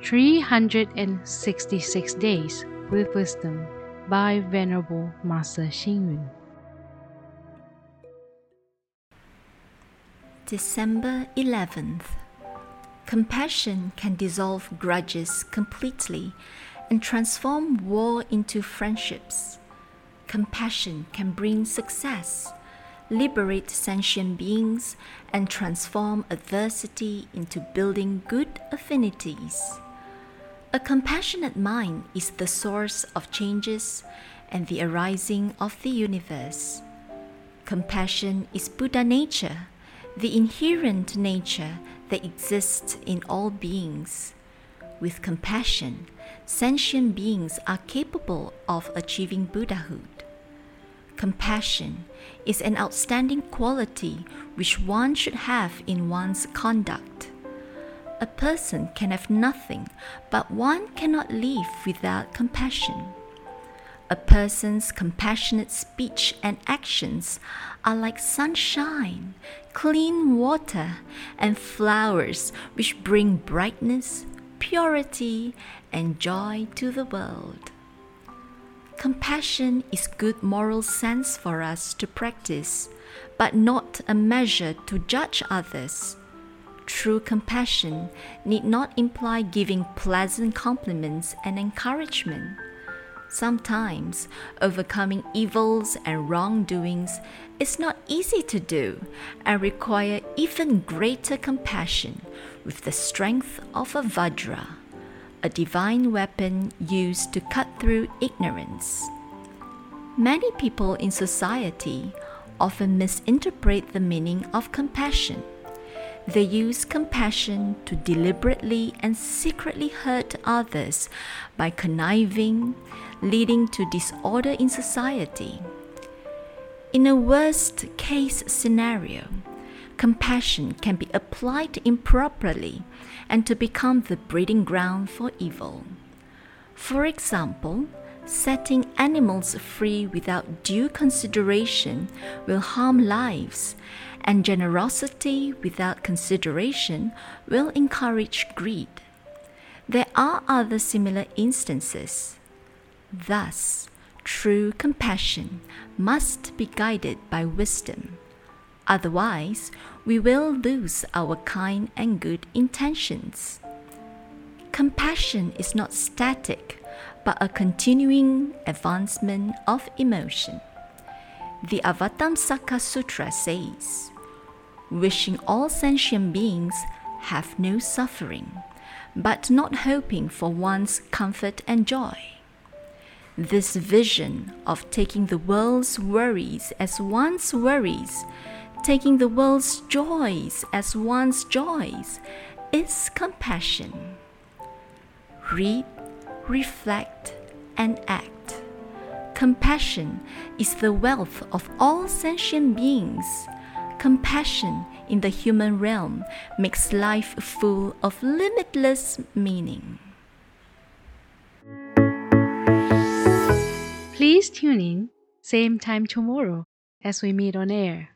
366 Days with Wisdom by Venerable Master Xing Yun. December 11th. Compassion can dissolve grudges completely and transform war into friendships. Compassion can bring success, liberate sentient beings, and transform adversity into building good affinities. A compassionate mind is the source of changes and the arising of the universe. Compassion is Buddha nature, the inherent nature that exists in all beings. With compassion, sentient beings are capable of achieving Buddhahood. Compassion is an outstanding quality which one should have in one's conduct. A person can have nothing, but one cannot live without compassion. A person's compassionate speech and actions are like sunshine, clean water, and flowers which bring brightness, purity, and joy to the world. Compassion is good moral sense for us to practice, but not a measure to judge others. True compassion need not imply giving pleasant compliments and encouragement. Sometimes, overcoming evils and wrongdoings is not easy to do and require even greater compassion with the strength of a Vajra, a divine weapon used to cut through ignorance. Many people in society often misinterpret the meaning of compassion. They use compassion to deliberately and secretly hurt others by conniving, leading to disorder in society. In a worst-case scenario, compassion can be applied improperly and to become the breeding ground for evil. For example, setting animals free without due consideration will harm lives, and generosity without consideration will encourage greed. There are other similar instances. Thus, true compassion must be guided by wisdom. Otherwise, we will lose our kind and good intentions. Compassion is not static, but a continuing advancement of emotion. The Avatamsaka Sutra says, "Wishing all sentient beings have no suffering, but not hoping for one's comfort and joy." This vision of taking the world's worries as one's worries, taking the world's joys as one's joys, is compassion. Read, reflect, and act. Compassion is the wealth of all sentient beings. Compassion in the human realm makes life full of limitless meaning. Please tune in, same time tomorrow as we meet on air.